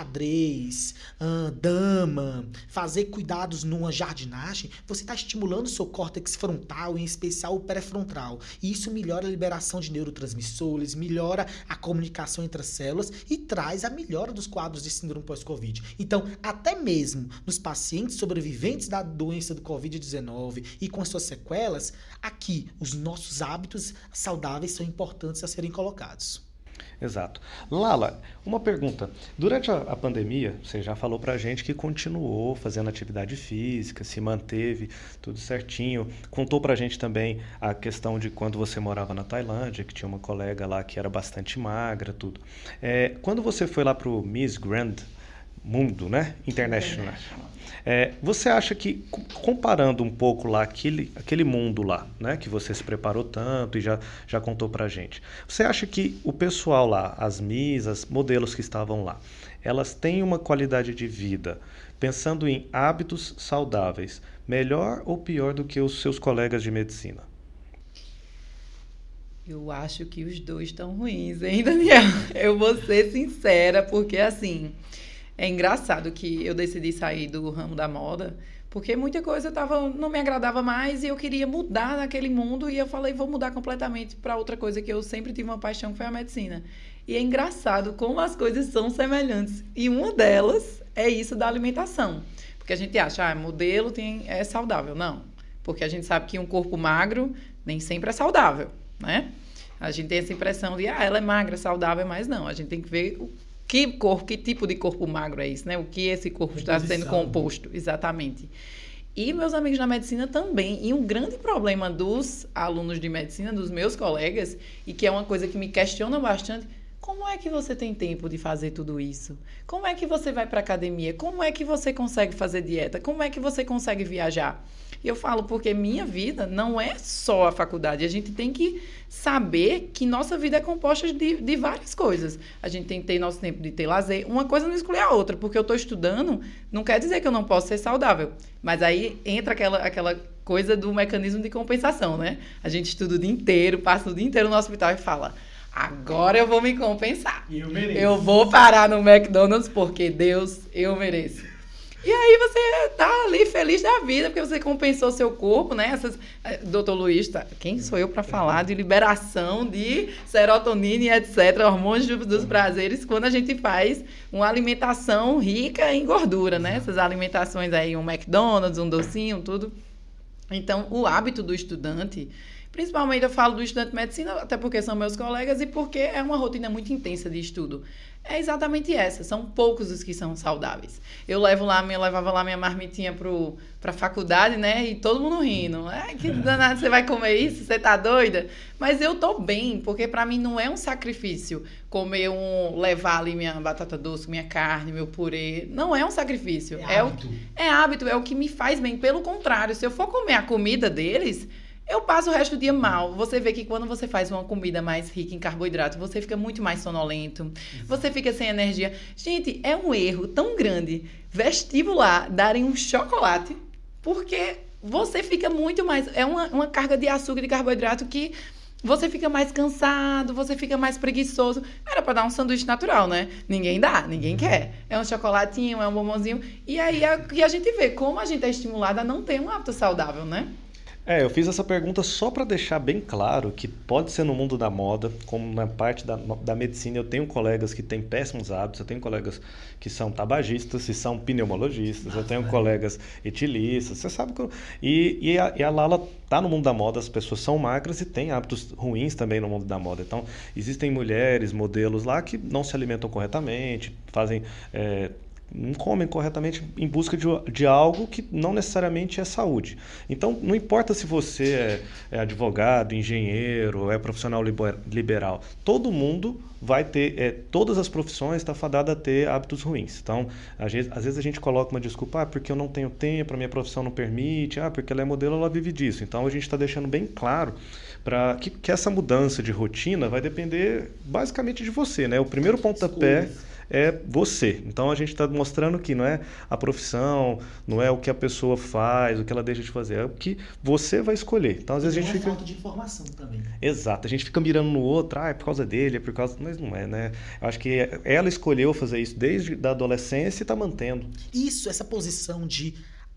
xadrez, hum, dama, fazer cuidados numa jardinagem, você está estimulando o seu córtex frontal, em especial o pré-frontal. E isso melhora a liberação de neurotransmissores, melhora a comunicação entre as células e traz a melhora dos quadros de síndrome pós-Covid. Então, até mesmo nos pacientes sobreviventes da doença do covid dezenove e com as suas sequelas, aqui os nossos hábitos saudáveis são importantes a serem colocados. Exato. Lala, uma pergunta. Durante a, a pandemia, você já falou pra gente que continuou fazendo atividade física, se manteve tudo certinho. Contou pra gente também a questão de quando você morava na Tailândia, que tinha uma colega lá que era bastante magra, tudo. É, quando você foi lá pro Miss Grand Mundo, né? International. É, você acha que, comparando um pouco lá, aquele, aquele mundo lá, né? Que você se preparou tanto e já, já contou pra gente. Você acha que o pessoal lá, as Miss, as modelos que estavam lá, elas têm uma qualidade de vida, pensando em hábitos saudáveis, melhor ou pior do que os seus colegas de medicina? Eu acho que os dois estão ruins, hein, Daniel? Eu vou ser sincera, porque assim... É engraçado que eu decidi sair do ramo da moda, porque muita coisa tava, não me agradava mais e eu queria mudar naquele mundo e eu falei, vou mudar completamente para outra coisa que eu sempre tive uma paixão, que foi a medicina. E é engraçado como as coisas são semelhantes. E uma delas é isso da alimentação. Porque a gente acha, ah, modelo tem, é saudável. Não, porque a gente sabe que um corpo magro nem sempre é saudável, né? A gente tem essa impressão de, ah, ela é magra, saudável, mas não. A gente tem que ver... o Que corpo, que tipo de corpo magro é isso, né? O que esse corpo está sendo composto, exatamente. E meus amigos na medicina também. E um grande problema dos alunos de medicina, dos meus colegas, e que é uma coisa que me questiona bastante, como é que você tem tempo de fazer tudo isso? Como é que você vai para a academia? Como é que você consegue fazer dieta? Como é que você consegue viajar? E eu falo porque minha vida não é só a faculdade. A gente tem que saber que nossa vida é composta de, de várias coisas. A gente tem que ter nosso tempo de ter lazer. Uma coisa não exclui a outra. Porque eu estou estudando, não quer dizer que eu não posso ser saudável. Mas aí entra aquela, aquela coisa do mecanismo de compensação, né? A gente estuda o dia inteiro, passa o dia inteiro no hospital e fala... Agora eu vou me compensar. Eu mereço. Eu vou parar no McDonald's porque Deus, eu mereço. E aí você tá ali feliz da vida, porque você compensou seu corpo, né? Essas, doutor Luiz, tá, quem sou eu para falar de liberação de serotonina e etcétera, hormônios dos prazeres, quando a gente faz uma alimentação rica em gordura, né? Essas alimentações aí, um McDonald's, um docinho, tudo. Então, o hábito do estudante... Principalmente eu falo do estudante de medicina, até porque são meus colegas e porque é uma rotina muito intensa de estudo. É exatamente essa, são poucos os que são saudáveis. Eu levo lá, eu levava lá minha marmitinha para a faculdade, né? E todo mundo rindo. É, que danado, você vai comer isso? Você tá doida? Mas eu tô bem, porque para mim não é um sacrifício comer um, levar ali minha batata doce, minha carne, meu purê. Não é um sacrifício. É, é hábito. O, é hábito, é o que me faz bem. Pelo contrário, se eu for comer a comida deles... eu passo o resto do dia mal. Você vê que quando você faz uma comida mais rica em carboidrato, você fica muito mais sonolento, você fica sem energia. Gente, é um erro tão grande vestibular darem um chocolate, porque você fica muito mais... É uma, uma carga de açúcar e de carboidrato que você fica mais cansado, você fica mais preguiçoso. Era para dar um sanduíche natural, né? Ninguém dá, ninguém quer. É um chocolatinho, é um bombonzinho. E aí a, e a gente vê como a gente é estimulado a não ter um hábito saudável, né? É, eu fiz essa pergunta só para deixar bem claro que pode ser no mundo da moda, como na parte da, da medicina. Eu tenho colegas que têm péssimos hábitos, eu tenho colegas que são tabagistas e são pneumologistas, eu tenho colegas etilistas, você sabe que eu, e, e, a, e a Lala tá no mundo da moda, as pessoas são magras e têm hábitos ruins também no mundo da moda. Então, existem mulheres, modelos lá que não se alimentam corretamente, fazem... É, não comem corretamente em busca de, de algo que não necessariamente é saúde. Então, não importa se você é, é advogado, engenheiro, é profissional liber, liberal, todo mundo vai ter, é, todas as profissões estão fadadas a ter hábitos ruins. Então, às vezes, às vezes a gente coloca uma desculpa, ah, porque eu não tenho tempo, a minha profissão não permite, ah, porque ela é modelo, ela vive disso. Então, a gente está deixando bem claro para que, que essa mudança de rotina vai depender basicamente de você, né? O primeiro pontapé é você. Então a gente está mostrando que não é a profissão, não é o que a pessoa faz, o que ela deixa de fazer, é o que você vai escolher. Então às vezes a gente fica... falta de informação também. Exato, a gente fica mirando no outro, ah, é por causa dele, é por causa... Mas não é, né? Eu acho que ela escolheu fazer isso desde a adolescência e está mantendo. Isso, essa posição de...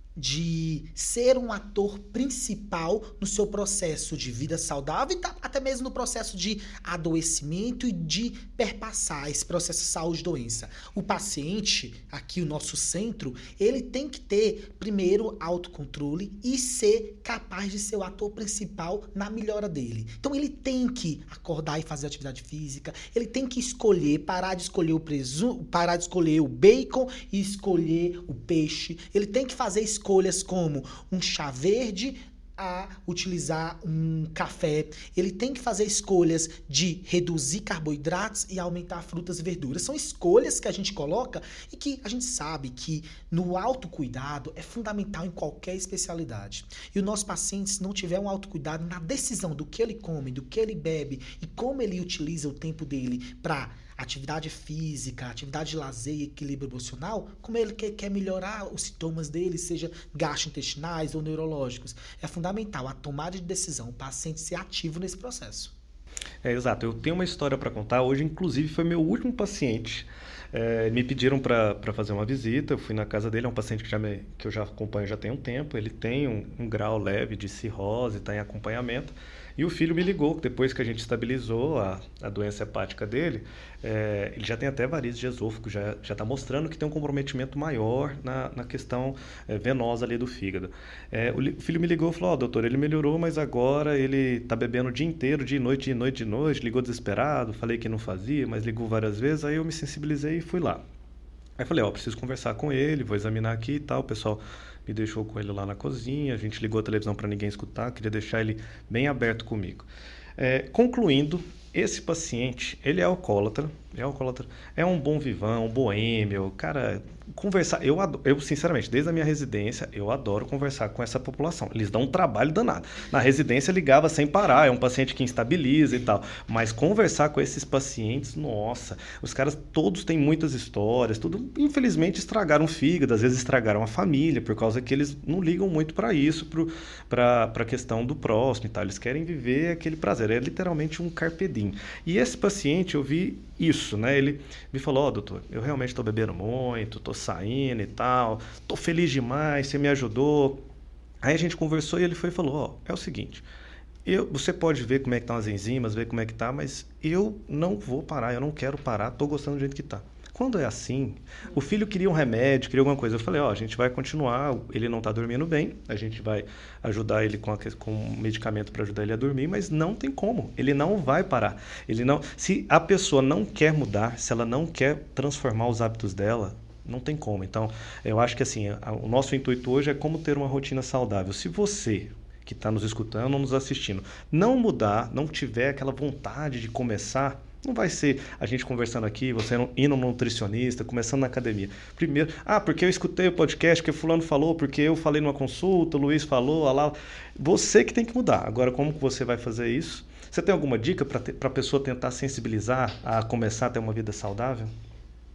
de ser um ator principal no seu processo de vida saudável e até mesmo no processo de adoecimento e de perpassar esse processo de saúde e doença. O paciente, aqui o nosso centro, ele tem que ter, primeiro, autocontrole e ser capaz de ser o ator principal na melhora dele. Então ele tem que acordar e fazer atividade física, ele tem que escolher, parar de escolher o presunto, parar de escolher o bacon e escolher o peixe. Ele tem que fazer escolhas como um chá verde a utilizar um café. Ele tem que fazer escolhas de reduzir carboidratos e aumentar frutas e verduras. São escolhas que a gente coloca e que a gente sabe que no autocuidado é fundamental em qualquer especialidade. E o nosso paciente, se não tiver um autocuidado na decisão do que ele come, do que ele bebe e como ele utiliza o tempo dele para atividade física, atividade de lazer e equilíbrio emocional, como ele quer, quer melhorar os sintomas dele, seja gastrointestinais ou neurológicos. É fundamental a tomada de decisão, o paciente ser ativo nesse processo. É, exato. Eu tenho uma história para contar. Hoje, inclusive, foi meu último paciente. É, me pediram para fazer uma visita, eu fui na casa dele, é um paciente que, já me, que eu já acompanho já tem um tempo, ele tem um, um grau leve de cirrose, está em acompanhamento, e o filho me ligou, depois que a gente estabilizou a, a doença hepática dele, é, ele já tem até varizes de esôfago, já está mostrando que tem um comprometimento maior na, na questão é, venosa ali do fígado. É, o, o filho me ligou e falou, ó, oh, doutor, ele melhorou, mas agora ele está bebendo o dia inteiro, de noite, de noite, de noite, ligou desesperado, falei que não fazia, mas ligou várias vezes, aí eu me sensibilizei e fui lá. Aí falei, ó, preciso conversar com ele, vou examinar aqui e tal, o pessoal me deixou com ele lá na cozinha, a gente ligou a televisão para ninguém escutar, queria deixar ele bem aberto comigo. É, concluindo, esse paciente, ele é alcoólatra, é alcoólatra, é um bom vivão, um boêmio, cara, conversar, eu, adoro, eu sinceramente, desde a minha residência, eu adoro conversar com essa população, eles dão um trabalho danado. Na residência ligava sem parar, é um paciente que instabiliza e tal, mas conversar com esses pacientes, nossa, os caras todos têm muitas histórias, tudo, infelizmente estragaram o fígado, às vezes estragaram a família, por causa que eles não ligam muito para isso, para a questão do próximo e tal, eles querem viver aquele prazer, é literalmente um carpe diem. E esse paciente, eu vi isso, né? Ele me falou, ó, oh, doutor, eu realmente estou bebendo muito, estou saindo e tal, estou feliz demais, você me ajudou. Aí a gente conversou e ele foi e falou, ó, oh, é o seguinte, eu, você pode ver como é que estão as enzimas, ver como é que tá, mas eu não vou parar, eu não quero parar, estou gostando do jeito que está. Quando é assim, o filho queria um remédio, queria alguma coisa. Eu falei, ó, a gente vai continuar, ele não está dormindo bem, a gente vai ajudar ele com, a, com um medicamento para ajudar ele a dormir, mas não tem como, ele não vai parar. Ele não, se a pessoa não quer mudar, se ela não quer transformar os hábitos dela, não tem como. Então, eu acho que assim, a, o nosso intuito hoje é como ter uma rotina saudável. Se você que está nos escutando ou nos assistindo não mudar, não tiver aquela vontade de começar, não vai ser a gente conversando aqui, você indo no nutricionista, começando na academia. Primeiro, ah, porque eu escutei o podcast, porque fulano falou, porque eu falei numa consulta, o Luiz falou, lá. Você que tem que mudar. Agora, como que você vai fazer isso? Você tem alguma dica para a pessoa tentar sensibilizar a começar a ter uma vida saudável?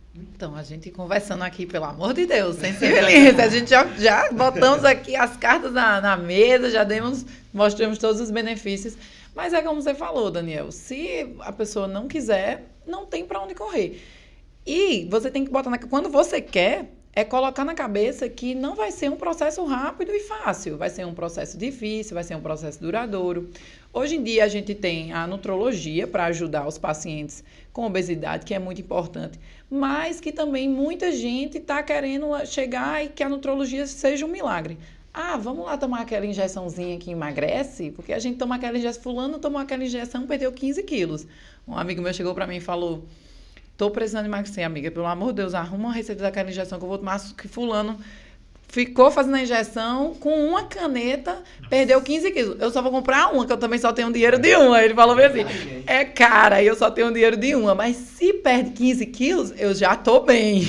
Então, a gente conversando aqui, pelo amor de Deus, sensibilidade. A gente já, já botamos aqui as cartas na, na mesa, já demos, mostramos todos os benefícios. Mas é como você falou, Daniel, se a pessoa não quiser, não tem para onde correr. E você tem que botar na... Quando você quer, é colocar na cabeça que não vai ser um processo rápido e fácil. Vai ser um processo difícil, vai ser um processo duradouro. Hoje em dia, a gente tem a nutrologia para ajudar os pacientes com obesidade, que é muito importante, mas que também muita gente está querendo chegar e que a nutrologia seja um milagre. Ah, vamos lá tomar aquela injeçãozinha que emagrece? Porque a gente toma aquela injeção, fulano tomou aquela injeção, perdeu quinze quilos. Um amigo meu chegou para mim e falou, tô precisando emagrecer, amiga, pelo amor de Deus, arruma uma receita daquela injeção que eu vou tomar, que fulano ficou fazendo a injeção com uma caneta, perdeu quinze quilos. Eu só vou comprar uma, que eu também só tenho dinheiro de uma. Ele falou assim, é cara, eu só tenho dinheiro de uma, mas se perde quinze quilos, eu já tô bem.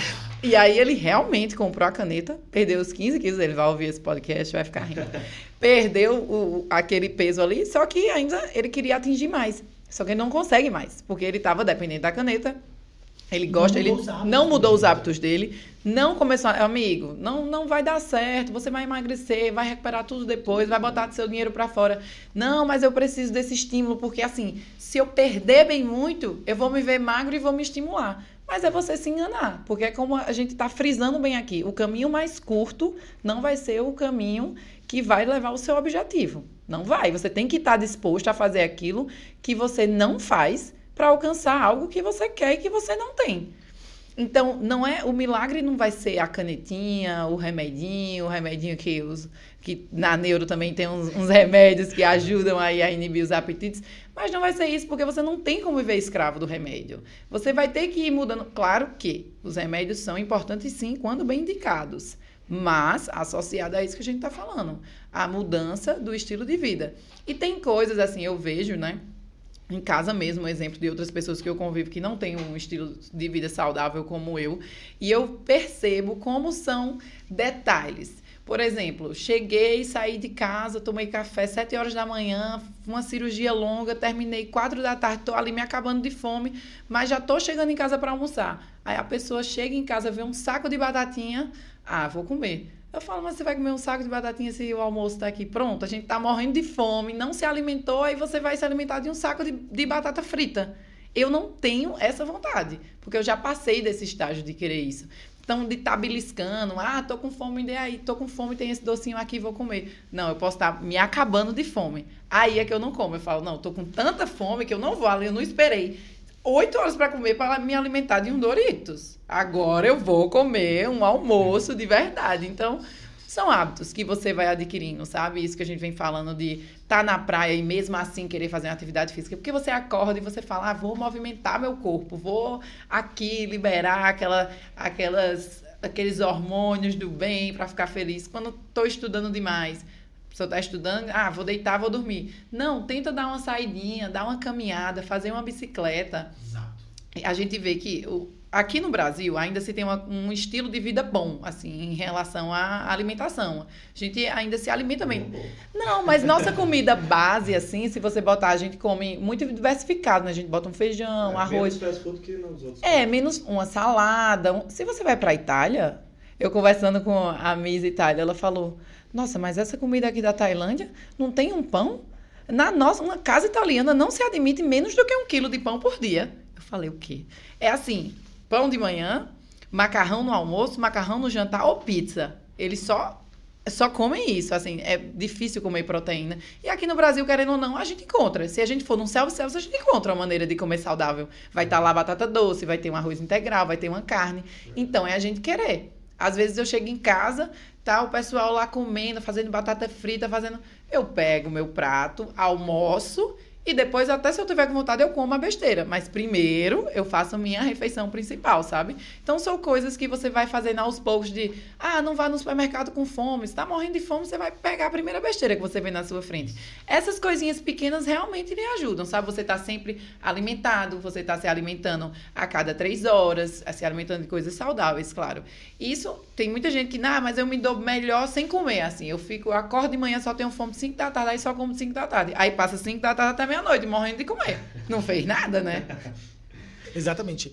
E aí ele realmente comprou a caneta, perdeu os quinze quilos, ele vai ouvir esse podcast, vai ficar rindo. Perdeu o, aquele peso ali, só que ainda ele queria atingir mais. Só que ele não consegue mais, porque ele estava dependente da caneta. Ele gosta, ele não mudou os hábitos dele, não começou, amigo, não, não vai dar certo, você vai emagrecer, vai recuperar tudo depois, vai botar seu dinheiro para fora. Não, mas eu preciso desse estímulo, porque assim, se eu perder bem muito, eu vou me ver magro e vou me estimular. Mas é você se enganar, porque é como a gente está frisando bem aqui, o caminho mais curto não vai ser o caminho que vai levar ao seu objetivo. Não vai, você tem que estar disposto a fazer aquilo que você não faz para alcançar algo que você quer e que você não tem. Então, não é, o milagre não vai ser a canetinha, o remedinho, o remedinho que, os, que na neuro também tem uns, uns remédios que ajudam aí a inibir os apetites, mas não vai ser isso porque você não tem como viver escravo do remédio. Você vai ter que ir mudando. Claro que os remédios são importantes sim, quando bem indicados, mas associado a isso que a gente está falando, a mudança do estilo de vida. E tem coisas assim, eu vejo, né? Em casa mesmo, um exemplo de outras pessoas que eu convivo que não têm um estilo de vida saudável como eu. E eu percebo como são detalhes. Por exemplo, cheguei, saí de casa, tomei café sete horas da manhã, uma cirurgia longa, terminei quatro da tarde, estou ali me acabando de fome, mas já estou chegando em casa para almoçar. Aí a pessoa chega em casa, vê um saco de batatinha, ah, vou comer. Eu falo, mas você vai comer um saco de batatinha se o almoço está aqui pronto? A gente está morrendo de fome, não se alimentou, aí você vai se alimentar de um saco de, de batata frita. Eu não tenho essa vontade, porque eu já passei desse estágio de querer isso. Então, de estar tá beliscando, ah, tô com fome, dê aí, tô com fome, tem esse docinho aqui, vou comer. Não, eu posso estar tá me acabando de fome. Aí é que eu não como. Eu falo, não, tô com tanta fome que eu não vou ali, eu não esperei oito horas para comer para me alimentar de um Doritos. Agora eu vou comer um almoço de verdade. Então, são hábitos que você vai adquirindo, sabe? Isso que a gente vem falando de estar tá na praia e mesmo assim querer fazer uma atividade física. Porque você acorda e você fala, ah, vou movimentar meu corpo, vou aqui liberar aquela, aquelas, aqueles hormônios do bem para ficar feliz. Quando estou estudando demais, a pessoa está estudando, ah, vou deitar, vou dormir. Não, tenta dar uma saidinha, dar uma caminhada, fazer uma bicicleta. Exato. A gente vê que o, aqui no Brasil ainda se tem uma, um estilo de vida bom, assim, em relação à alimentação. A gente ainda se alimenta bem. Não, mas nossa comida base, assim, se você botar, a gente come muito diversificado, né? A gente bota um feijão, é, arroz. Menos fast food que nos outros. É, menos uma salada. Um... Se você vai para a Itália, eu conversando com a Miss Itália, ela falou, nossa, mas essa comida aqui da Tailândia não tem um pão? Na nossa, uma casa italiana não se admite menos do que um quilo de pão por dia. Eu falei, o quê? É assim, pão de manhã, macarrão no almoço, macarrão no jantar ou pizza. Eles só, só comem isso, assim, é difícil comer proteína. E aqui no Brasil, querendo ou não, a gente encontra. Se a gente for num self-service, a gente encontra uma maneira de comer saudável. Vai estar lá batata doce, vai ter um arroz integral, vai ter uma carne. Então, é a gente querer. Às vezes eu chego em casa, tá o pessoal lá comendo, fazendo batata frita, fazendo... Eu pego meu prato, almoço e depois, até se eu tiver com vontade, eu como a besteira. Mas primeiro, eu faço a minha refeição principal, sabe? Então, são coisas que você vai fazendo aos poucos de... Ah, não vá no supermercado com fome. Se tá morrendo de fome, você vai pegar a primeira besteira que você vê na sua frente. Essas coisinhas pequenas realmente lhe ajudam, sabe? Você tá sempre alimentado, você tá se alimentando a cada três horas, se alimentando de coisas saudáveis, claro. Isso, tem muita gente que... Ah, mas eu me dou melhor sem comer, assim. Eu fico, eu acordo de manhã, só tenho fome de cinco da tarde, aí só como cinco da tarde. Aí passa cinco da tarde até meia-noite, morrendo de comer. Não fez nada, né? Exatamente.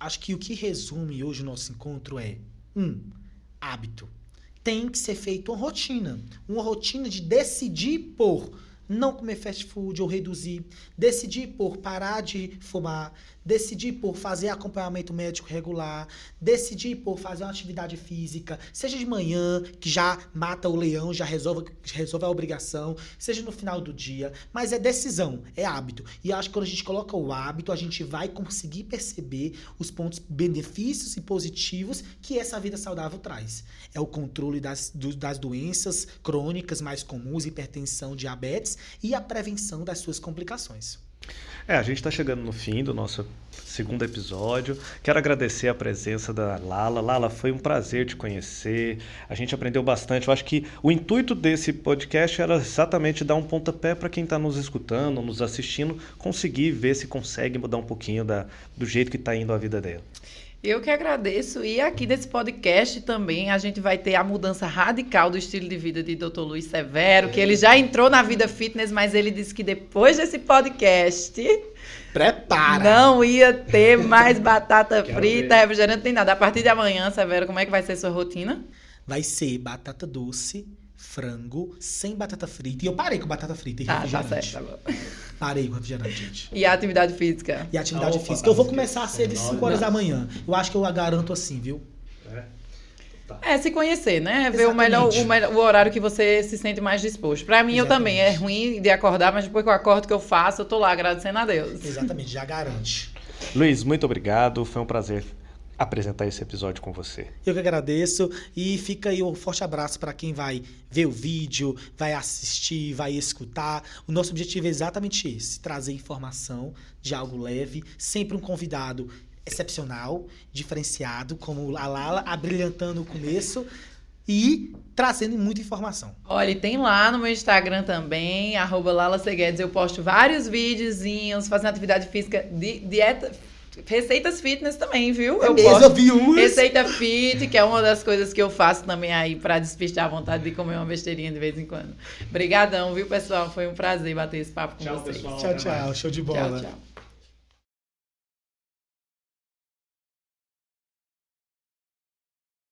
acho que o que resume hoje o nosso encontro é, um, hábito. Tem que ser feita uma rotina. Uma rotina de decidir por não comer fast food ou reduzir. Decidir por parar de fumar. Decidir por fazer acompanhamento médico regular. Decidir por fazer uma atividade física. Seja de manhã, que já mata o leão, já resolve, resolve a obrigação. Seja no final do dia. Mas é decisão, é hábito. E acho que quando a gente coloca o hábito, a gente vai conseguir perceber os pontos benefícios e positivos que essa vida saudável traz. É o controle das, do, das doenças crônicas mais comuns, hipertensão, diabetes, e a prevenção das suas complicações. É, a gente está chegando no fim do nosso segundo episódio. Quero agradecer a presença da Lala. Lala, foi um prazer te conhecer. A gente aprendeu bastante. Eu acho que o intuito desse podcast era exatamente dar um pontapé para quem está nos escutando, nos assistindo, conseguir ver se consegue mudar um pouquinho da, do jeito que está indo a vida dela. Eu que agradeço. E aqui nesse podcast também a gente vai ter a mudança radical do estilo de vida de doutor Luiz Severo, que ele já entrou na vida fitness, mas ele disse que depois desse podcast... Prepara! Não ia ter mais batata frita, refrigerante, nem nada. A partir de amanhã, Severo, como é que vai ser a sua rotina? Vai ser batata doce, frango, sem batata frita. E eu parei com batata frita e refrigerante. Ah, tá certo, tá bom. Parei com refrigerante, gente. E a atividade física? E a atividade Opa, física. Eu vou começar a ser de cinco horas da manhã. Eu acho que eu a garanto assim, viu? É. Tá. É, se conhecer, né? Exatamente. Ver o, melhor, o, melhor, o horário que você se sente mais disposto. Pra mim, Exatamente. eu também. É ruim de acordar, mas depois que eu acordo, que eu faço, eu tô lá agradecendo a Deus. Exatamente, já garante. Luiz, muito obrigado. Foi um prazer apresentar esse episódio com você. Eu que agradeço e fica aí um forte abraço para quem vai ver o vídeo, vai assistir, vai escutar. O nosso objetivo é exatamente esse, trazer informação de algo leve, sempre um convidado excepcional, diferenciado, como a Lala, abrilhantando o começo e trazendo muita informação. Olha, e tem lá no meu Instagram também, arroba Lala Seguedes, eu posto vários videozinhos, fazendo atividade física, de, dieta... Receitas fitness também, viu? É eu mesmo, posto eu vi umas. Receita fit, que é uma das coisas que eu faço também aí pra despistar a vontade de comer uma besteirinha de vez em quando. Obrigadão, viu, pessoal? Foi um prazer bater esse papo com Tchau, vocês. pessoal. Tchau, tchau. Show de bola. Tchau, tchau.